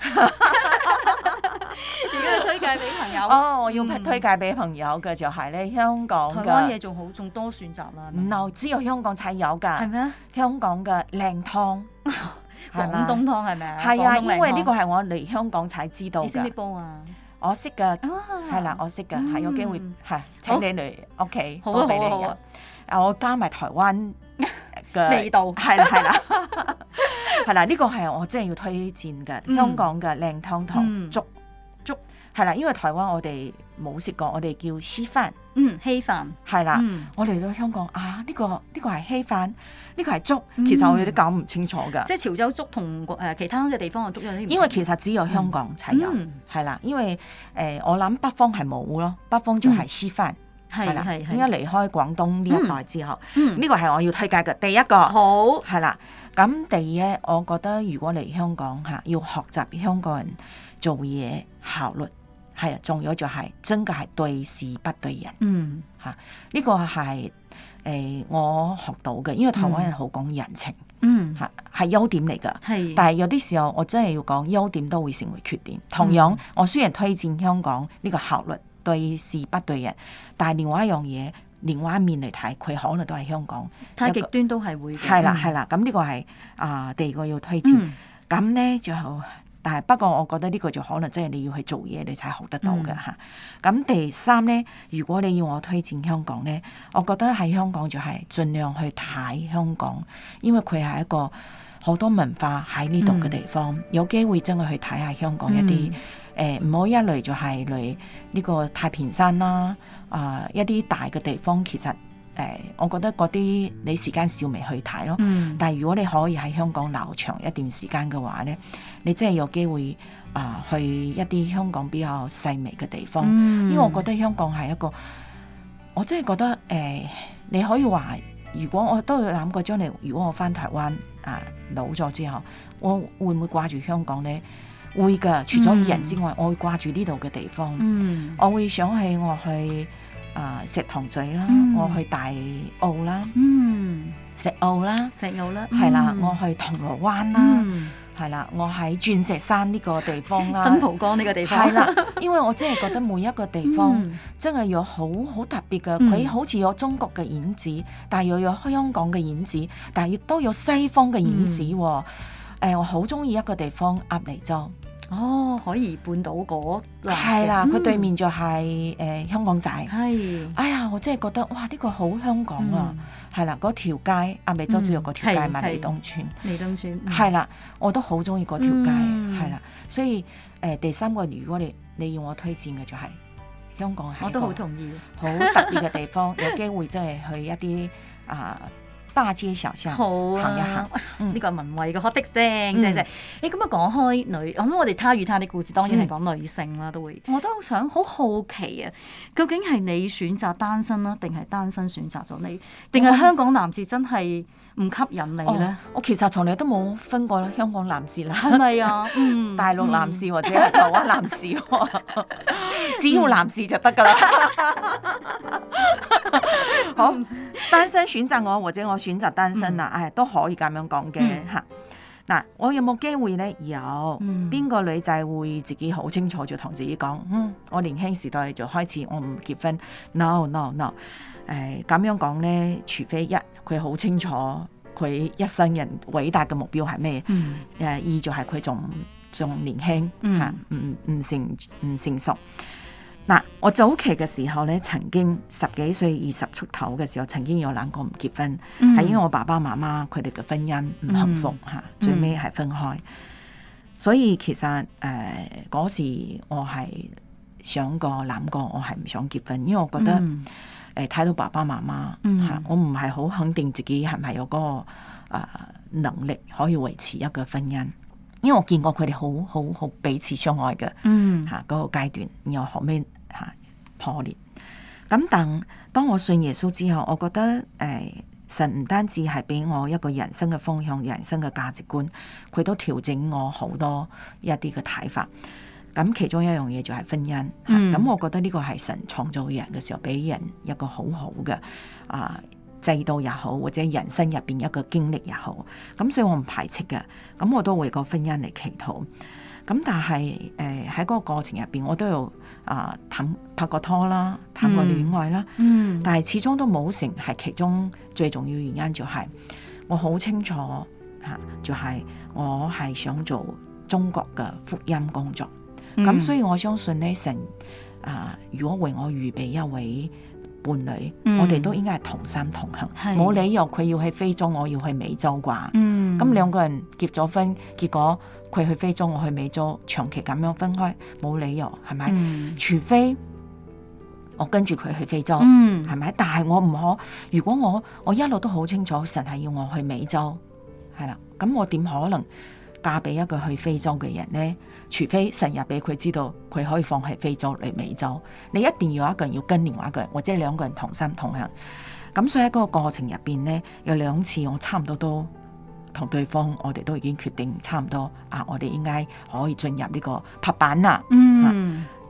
如果要推介俾朋友， 我要推介俾朋友嘅就係咧香港嘅。 台灣嘢仲多選擇啦。 唔，只有香港才有㗎。 係咩？香港嘅靚湯。 廣東湯係咪啊？ 係啊，因為呢個係我嚟香港才知道㗎。 你識唔識煲啊？ 我識㗎，係啦，我識㗎，係有機會係請你嚟屋企煲俾你飲。我加埋台灣嘅味道， 係啦，係啦，呢個係我真係要推薦嘅香港嘅靚湯同粥，係啦，因為台灣我哋冇食過，我哋叫稀飯， 稀飯係啦，我嚟到香港呢個係稀飯，呢個係粥，其實我有啲搞唔清楚㗎。 即係潮州粥同其他嘅地方嘅粥有啲唔同。 因為其實只有香港才有，係啦，因為我諗北方係冇咯，北方就係稀飯。係啦，應該離開廣東呢一代之後，呢個係我要推介嘅第一個。 好， 係啦。咁第二咧，我覺得如果嚟香港要學習香港人做嘢效率， 係啊，仲有就係真嘅係對事不對人。嚇，呢個係我學到嘅，因為台灣人好講人情。嚇，係優點嚟㗎。係，但係有啲時候我真係要講優點都會成為缺點。同樣，我雖然推薦香港呢個效率對事不對人，但係另外一樣嘢，另外一面嚟睇，佢可能都係香港太極端都係會嘅。 係啦係啦，咁呢個係第二個要推薦。咁咧就，但係不過我覺得呢個就可能真係你要去做嘢，你才學得到嘅嚇。咁第三咧，如果你要我推薦香港咧，我覺得喺香港就係盡量去睇香港，因為佢係一個好多文化喺呢度嘅地方，有機會真係去睇下香港一啲唔好一嚟就係嚟呢個太平山啦，一啲大嘅地方其實。我覺得嗰啲你時間少未去睇咯，但係如果你可以喺香港留長一段時間嘅話咧，你真係有機會去一啲香港比較細微嘅地方，因為我覺得香港係一個，我真係覺得你可以話，如果我都有諗過將來，如果我返台灣老咗之後，我會唔會掛住香港咧？會㗎，除咗人之外，我會掛住呢度嘅地方，我會想我去。石塘咀啦，我去大澳啦，石澳啦，係啦，我去銅鑼灣啦，係啦，我喺鑽石山呢個地方啦， 新蒲崗呢個地方， 係啦，因為我真係覺得每一個地方真係有好特別嘅，佢好似有中國嘅影子，但係又有香港嘅影子，但係亦都有西方嘅影子喎。我好中意一個地方鴨脷洲。 海怡半島嗰係啦，佢對面就係香港仔。係，哎呀，我真係覺得哇，呢個好香港啊！係啦，嗰條街鴨脷洲只有嗰條街嘛，利東村。利東村係啦，我都好中意嗰條街，係啦。所以第三個，如果你要我推薦嘅就係香港，係我都好同意，好特別嘅地方，有機會真係去一啲大街小巷行一行， 呢個文慧嘅可的聲，即係咁啊！講開女，咁我哋他與他的故事當然係講女性啦，都會。我都想好奇啊，究竟係你選擇單身啦，定係單身選擇咗你，定係香港男士真係唔吸引你咧？ 我其實從嚟都冇分過香港男士啦， 係咪啊？ 大陸男士或者係台灣男士，只要男士就得噶啦。好，單身選擇我，或者我選擇單身啦，都可以咁樣講嘅嚇。嗱，我有冇機會咧？有。邊個女仔會自己好清楚就同自己講，我年輕時代就開始我唔結婚。No。咁樣講咧，除非一佢好清楚佢一生人偉大嘅目標係咩？二就係佢仲年輕嚇，唔成熟。嗱，我早期嘅時候咧，曾經10幾歲、20出頭嘅時候，曾經有諗過唔結婚，係因為我爸爸媽媽佢哋嘅婚姻唔幸福嚇，最尾係分開。所以其實嗰時我係諗過，我係唔想結婚，因為我覺得睇到爸爸媽媽嚇，我唔係好肯定自己係咪有嗰個能力可以維持一個婚姻。因為我見過佢哋好彼此相愛嘅嗰個階段，然後後尾破裂。咁當我信耶穌之後，我覺得神唔單止係俾我一個人生嘅方向、人生嘅價值觀，佢都調整我好多一啲嘅睇法。咁其中一樣嘢就係婚姻。咁我覺得呢個係神創造人嘅時候，俾人一個好好嘅制度也好，或者人生入邊一個經歷也好，咁所以我唔排斥嘅，咁我都為個婚姻嚟祈禱。咁但係喺嗰個過程入邊，我都有拍過拖啦，談過戀愛啦，但係始終都冇成，係其中最重要原因就係我好清楚就係我係想做中國嘅福音工作。咁所以我相信呢，神如果為我預備一位伴侶，我哋都應該係同心同行，冇理由佢要去非洲，我要去美洲啩。咁兩個人結咗婚，結果佢去非洲，我去美洲，長期咁樣分開，冇理由，係咪？除非我跟住佢去非洲，係咪？但係我唔可，如果我一路都好清楚，神係要我去美洲，係啦，咁我點可能嫁俾一個去非洲嘅人呢？除非神入俾佢知道，佢可以放棄非洲嚟美洲，你一定要有一個人要跟另外一個人，或者兩個人同心同行。咁所以喺嗰個過程入邊呢，有2次我差唔多都同對方，我哋都已經決定差唔多我哋應該可以進入呢個拍板啦。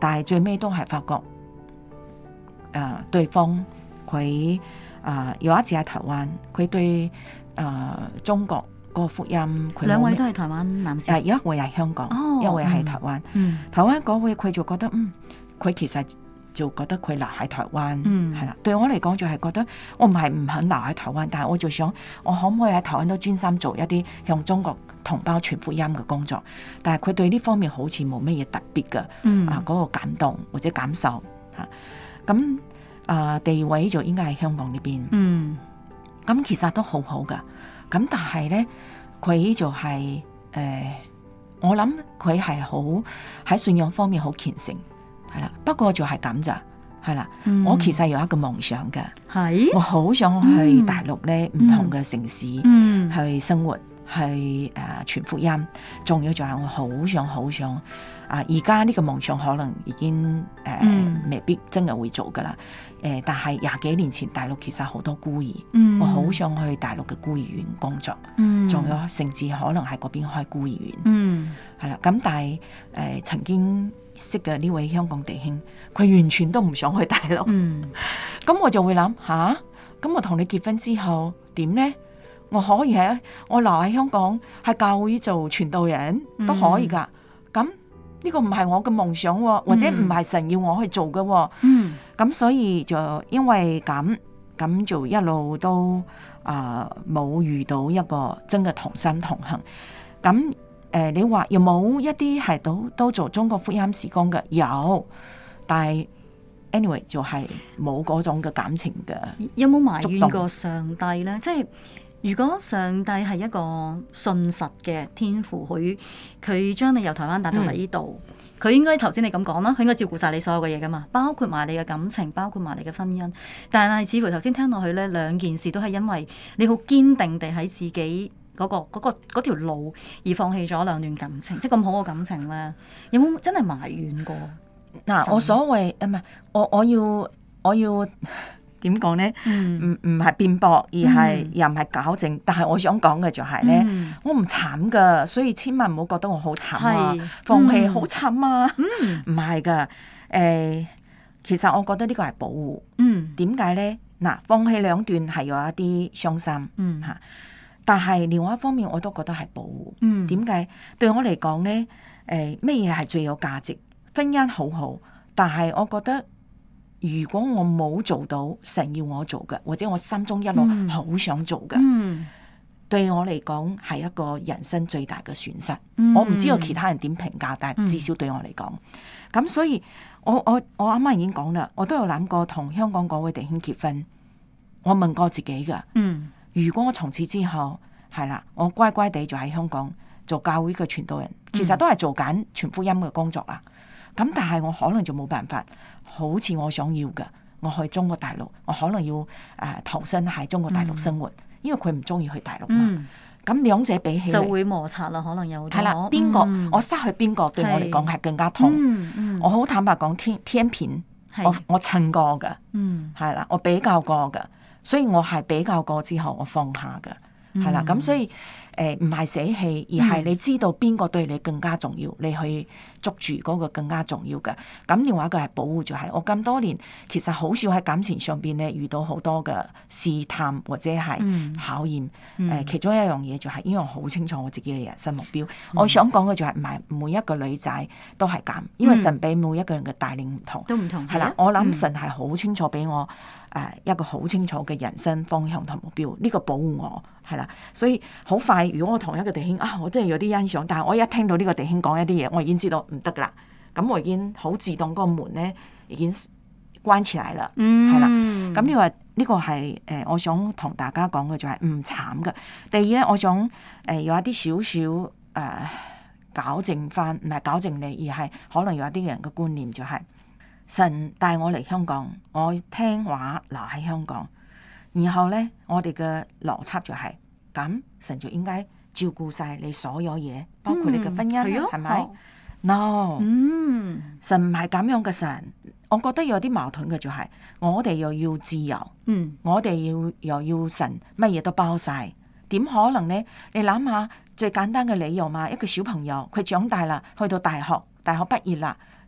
但係最尾都係發覺對方佢有一次喺台灣，佢對中國個福音，佢兩位都係台灣男士， 一位係香港，一位係台灣。台灣嗰位佢就覺得佢其實就覺得佢留喺台灣係啦。對我嚟講就係覺得我唔係唔肯留喺台灣，但係我就想我可唔可以喺台灣都專心做一啲向中國同胞傳福音嘅工作。但係佢對呢方面好似冇乜嘢特別嘅嗰個感動或者感受嚇。咁第二位就應該係香港呢邊。咁其實都好好噶。咁但係咧，佢就係我諗佢係好喺信仰方面好虔誠，係啦。不過就係咁咋，係啦。我其實有一個夢想嘅，我好想去大陸咧唔同嘅城市去生活，去傳福音。仲有就係我好想而家呢個夢想可能已經未必真係會做噶啦。但係廿幾年前大陸其實好多孤兒，我好想去大陸嘅孤兒院工作，仲有甚至可能喺嗰邊開孤兒院，係啦。咁但係曾經識嘅呢位香港弟兄，佢完全都唔想去大陸。咁我就會諗咁我同你結婚之後點呢？我可以我留喺香港喺教會做傳道人都可以噶。咁呢個唔係我嘅夢想，或者唔係神要我去做嘅。咁所以就因為咁就一路都冇遇到一個真嘅同心同行。咁你話有冇一啲係都做中國福音事工嘅？有，但係 anyway 就係冇嗰種嘅感情嘅。 有冇埋怨過上帝呢？即係如果上帝係一個信實嘅天父，佢將你由台灣帶到嚟呢度，佢應該頭先你咁講啦，佢應該照顧晒你所有嘅嘢噶嘛，包括埋你嘅感情，包括埋你嘅婚姻。但係似乎頭先聽落去呢，兩件事都係因為你好堅定地喺自己嗰條路而放棄咗兩段感情，即係咁好嘅感情呢，有冇真係埋怨過？ 我所謂我要點講呢？唔係辯駁，而係又唔係糾正。但係我想講嘅就係呢，我唔慘噶，所以千萬唔好覺得我好慘啊，放棄好慘啊。唔係噶，其實我覺得呢個係保護。點解呢？嗱，放棄兩段係有一啲傷心吓，但係另外一方面我都覺得係保護。點解？對我嚟講呢，咩嘢係最有價值？婚姻好，但係我覺得。如果我冇做到神要我做嘅，或者我心中一路好想做嘅，對我嚟講係一個人生最大嘅損失。我唔知道其他人點評價，但係至少對我嚟講，咁所以我啱啱已經講啦，我都有諗過同香港嗰位弟兄結婚。我問過自己噶，如果我從此之後係啦，我乖乖地就喺香港做教會嘅傳道人，其實都係做緊傳福音嘅工作啊。咁但係我可能就冇辦法，好似我想要嘅，我去中國大陸，我可能要投身喺中國大陸生活，因為佢唔中意去大陸嘛。咁兩者比起嚟就會摩擦啦，可能有係啦。邊個我失去邊個對我嚟講係更加痛？我好坦白講，天平我稱過嘅，係啦，我比較過嘅，所以我係比較過之後我放下嘅。係啦，咁所以唔係捨棄，而係你知道邊個對你更加重要，你去捉住嗰個更加重要嘅。咁另外一個係保護，就係我咁多年其實好少喺感情上邊咧遇到好多嘅試探或者係考驗。其中一樣嘢就係因為我好清楚我自己嘅人生目標。我想講嘅就係唔係每一個女仔都係咁，因為神俾每一個人嘅帶領唔同， 都唔同。 係啦，我諗神係好清楚俾我一個好清楚嘅人生方向同目標，呢個保護我。係啦，所以好快，如果我同一個弟兄我真係有啲欣賞，但係我一聽到呢個弟兄講一啲嘢，我已經知道唔得噶啦。咁我已經好自動嗰個門咧已經關起來啦。係啦，咁呢個係我想同大家講嘅就係唔慘噶。第二咧，我想有一啲少少糾正翻，唔係糾正你，而係可能有一啲人嘅觀念就係神帶我嚟香港，我聽話留喺香港。然後咧，我哋嘅邏輯就係咁，神就應該照顧晒你所有嘢，包括你嘅婚姻，係咪？No，神唔係咁樣嘅神。我覺得有啲矛盾嘅就係，我哋又要自由，我哋又要神乜嘢都包晒，點可能呢？你諗下最簡單嘅理由嘛，一個小朋友佢長大啦，去到大學畢業啦，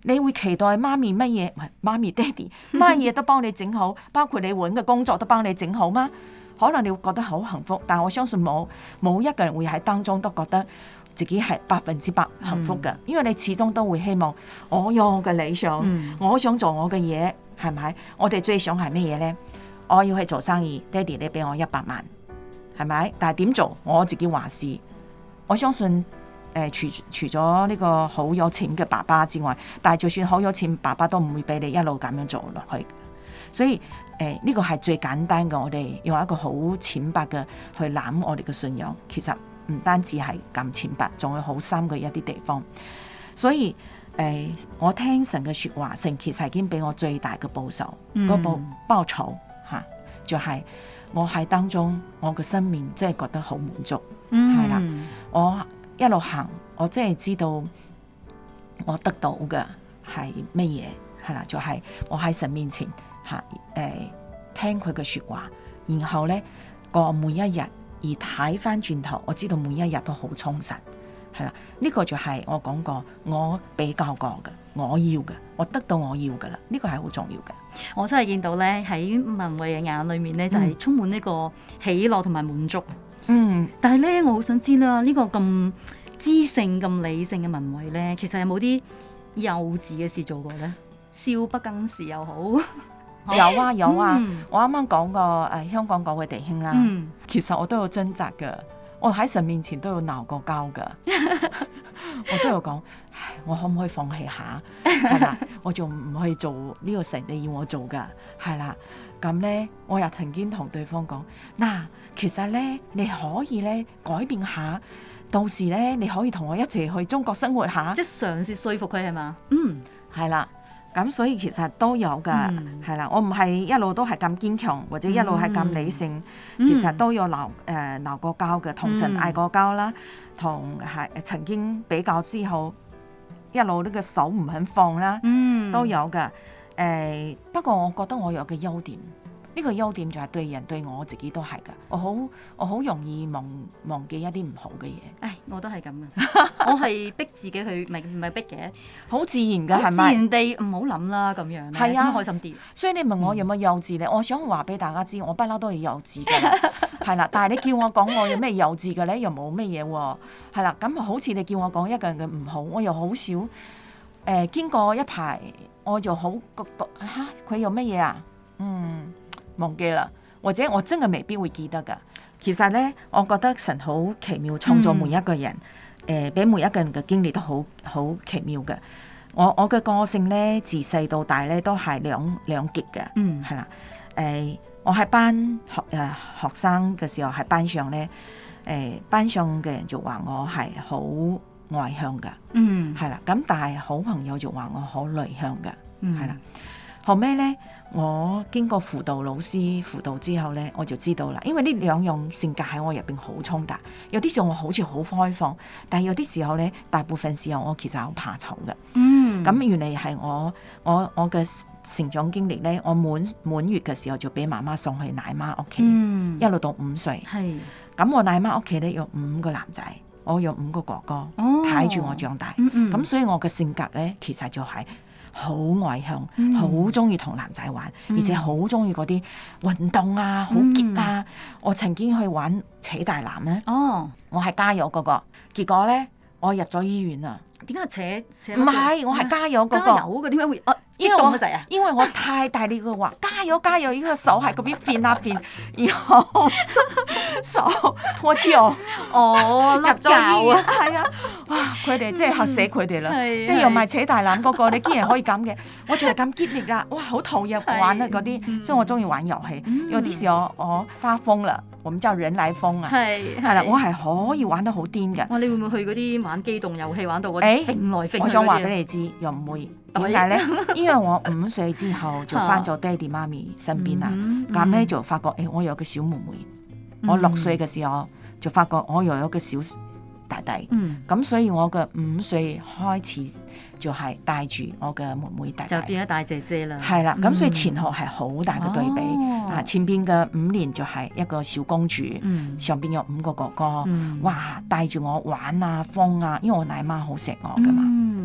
你會期待媽咪乜嘢？唔係媽咪爹哋乜嘢都幫你整好，包括你揾嘅工作都幫你整好嗎？可能你會覺得好幸福，但我相信冇一個人會喺當中都覺得自己係100%幸福嘅，因為你始終都會希望我有我嘅理想，我想做我嘅嘢，係咪？我哋最想係咩嘢呢？我要去做生意，爹哋你俾我100萬，係咪？但係點做我自己話事。我相信除咗呢個好有錢嘅爸爸之外，但係就算好有錢，爸爸都唔會俾你一路咁樣做落去。所以呢個係最簡單嘅，我哋用一個好淺白嘅去諗我哋嘅信仰，其實唔單止係咁淺白，仲有好深嘅一啲地方。所以我聽神嘅說話，神其實已經俾我最大嘅報酬，報酬吓，就係我喺當中，我嘅生命真係覺得好滿足，係啦。我一路行，我真係知道我得到嘅係乜嘢，係啦，就係我喺神面前吓，聽佢嘅說話，然後咧過每一日，而睇翻轉頭，我知道每一日都好充實，係啦。呢個就係我講過，我比較過嘅，我要嘅，我得到我要嘅啦，呢個係好重要嘅。 我真係見到咧喺文慧嘅眼裏面咧，就係充滿呢個喜樂同埋滿足。但係咧，我好想知啦，呢個咁知性、咁理性嘅文慧咧，其實有冇啲幼稚嘅事做過咧？少不更事又好。 有啊，我啱啱講過香港嗰位弟兄啦，其實我都有掙扎噶，我喺神面前都有鬧過交噶，我都有講，我可唔可以放棄下？係啦，我仲唔去做呢個神你要我做噶，係啦。咁咧，我又曾經同對方講，嗱，其實咧你可以咧改變下，到時咧你可以同我一齊去中國生活下， 即係嘗試說服佢係嘛？ 係啦。咁所以其實都有噶，係啦，我唔係一路都係咁堅強，或者一路係咁理性，其實都有鬧過交嘅，同神嗌過交啦，同係曾經比較之後，一路呢個手唔肯放啦，都有噶。不過我覺得我有個優點，呢個優點就係對人對我自己都係噶，我好容易忘記一啲唔好嘅嘢。 唉，我都係咁啊，我係逼自己去，唔係逼嘅， 好自然噶，係咪？ 自然地唔好諗啦，咁樣係啊，開心啲。 所以你問我有冇幼稚咧？我想話俾大家知，我不嬲都係幼稚嘅，係啦。但係你叫我講我有咩幼稚嘅咧，又冇咩嘢喎，係啦。咁好似你叫我講一個人嘅唔好，我又好少經過一排，我就好嚇佢有乜嘢啊？忘記啦，或者我真係未必會記得噶。其實咧，我覺得神好奇妙，創造每一個人，俾每一個人嘅經歷都好奇妙嘅。我嘅個性咧，自細到大咧都係兩極嘅，係啦。我喺班學生嘅時候喺班上咧，班上嘅人就話我係好外向嘅，係啦。咁但係好朋友就話我好內向嘅，係啦。後尾咧，我經過輔導老師輔導之後咧，我就知道啦。因為呢兩樣性格喺我入邊好衝突，有啲時候我好似好開放，但係有啲時候咧，大部分時候我其實好怕醜嘅。咁原來係我嘅成長經歷咧，我滿月嘅時候就俾媽媽送去奶媽屋企，一路到5歲。咁我奶媽屋企咧有5個男仔，我有5個哥哥睇住我長大。咁所以我嘅性格咧，其實就係好外向，好中意同男仔玩，而且好中意嗰啲運動啊，好激啊。我曾經去玩扯大纜咧，我係加油嗰個，結果咧我入咗醫院啊。 點解扯？ 唔係，我係加油嗰個。 加油嗰個點解會激動得滯啊？ 因為我太大力嘅話，加油加油！呢個手喺嗰邊變啊變，然後手脫臼，入咗醫院。係啊，哇！佢哋真係嚇死佢哋啦！你又唔係扯大纜嗰個，你竟然可以咁嘅？我就係咁激烈啦！哇，好投入玩啊嗰啲，所以我中意玩遊戲。有啲時候我發瘋啦，我們叫人來瘋啊，係啦，我係可以玩得好癲嘅。 哇！你會唔會去嗰啲玩機動遊戲玩到嗰啲揈來揈去嗰啲？ 我想話俾你知，又唔會。點解咧？因為我5歲之後就翻咗爹哋媽咪身邊啦，咁咧就發覺我有個小妹妹。我6歲嘅時候就發覺我又有個小弟弟，咁所以我嘅5歲開始就係帶住我嘅妹妹弟弟， 就變咗大姐姐啦。 係啦，咁所以前後係好大嘅對比。前邊嘅5年就係一個小公主，上邊有5個哥哥，哇，帶住我玩啊瘋啊，因為我奶媽好錫我噶嘛。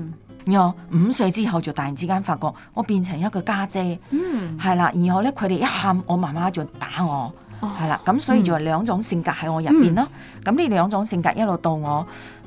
然後5歲之後就突然之間發覺我變成一個家姐，係啦。然後咧佢哋一喊，我媽媽就打我，係啦。咁所以就係2種性格喺我入邊咯。咁呢2種性格一路到我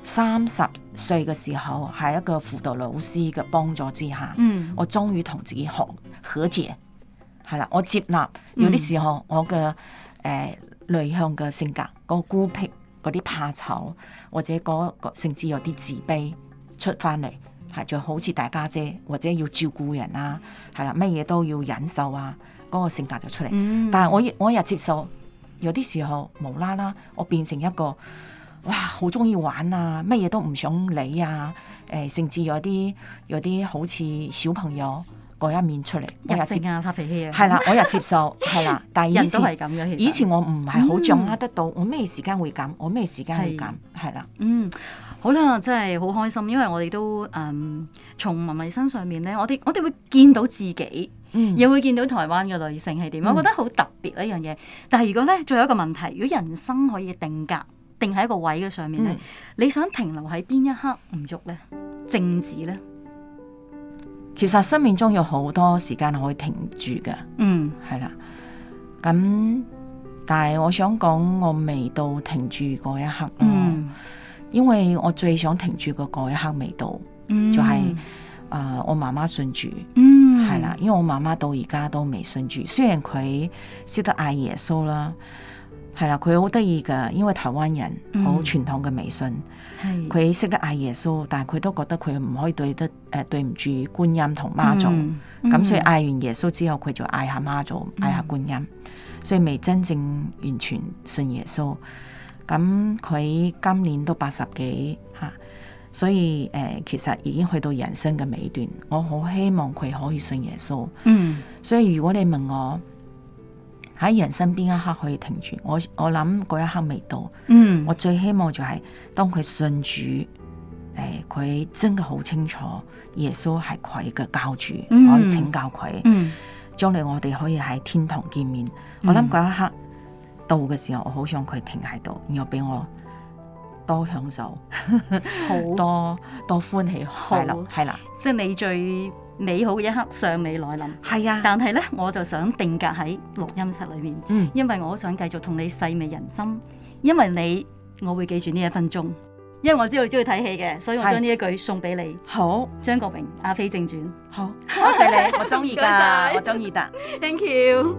30歲嘅時候，喺一個輔導老師嘅幫助之下，我終於同自己和解，係啦。我接納有啲時候我嘅內向嘅性格，嗰個孤僻，嗰啲怕醜，或者嗰個甚至有啲自卑出翻嚟，係就好似大家姐或者要照顧人啊，係啦，乜嘢都要忍受啊，嗰個性格就出嚟。但係我又接受有啲時候無啦啦，我變成一個哇好中意玩啊，乜嘢都唔想理啊，甚至有啲好似小朋友嗰一面出嚟， 任性啊，發脾氣啊， 係啦，我又接受係啦。但係人都係咁嘅， 以前我唔係好掌握得到，我咩時間會咁，我咩時間會咁，係啦。 好啦，真係好開心，因為我哋都從文慧身上面咧，我哋會見到自己，又會見到台灣嘅女性係點，我覺得好特別一樣嘢。但係如果咧，最後一個問題，如果人生可以定格，定喺一個位嘅上面咧，你想停留喺邊一刻唔喐咧？靜止咧？ 其實生命中有好多時間可以停住嘅，係啦。咁但係我想講，我未到停住嗰一刻咯，因為我最想停住嘅嗰一刻未到，就係我媽媽信主，係啦。因為我媽媽到而家都未信主，雖然佢識得嗌耶穌啦，係啦，佢好得意噶，因為台灣人好傳統嘅迷信。佢識得嗌耶穌，但係佢都覺得佢唔可以對唔住觀音同媽祖，咁所以嗌完耶穌之後，佢就嗌下媽祖，嗌下觀音，所以未真正完全信耶穌。咁佢今年都80幾吓，所以其實已經去到人生嘅尾段。我好希望佢可以信耶穌。所以如果你問我喺人生邊一刻可以停住，我諗嗰一刻未到。我最希望就係當佢信主，佢真係好清楚耶穌係佢嘅教主，可以拯救佢。將來我哋可以喺天堂見面。我諗嗰一刻到嘅時候，我好想佢停喺度，然後俾我多享受，多歡喜快樂，係啦。 即係你最美好嘅一刻尚未來臨， 係啊。 但係咧，我就想定格喺錄音室裏面，因為我想繼續同你細味人心，因為我會記住呢1分鐘，因為我知道你中意睇戲嘅，所以我將呢一句送俾你。好，張國榮《阿飛正傳》。好， 多謝你，我中意噶，我中意噶。 Thank you。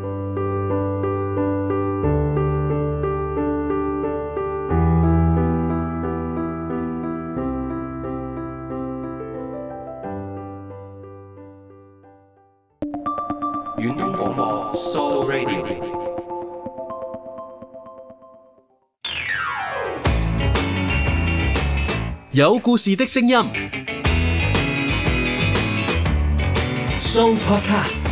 遠東廣播 Soul Radio， 有故事的聲音 Soul Podcast。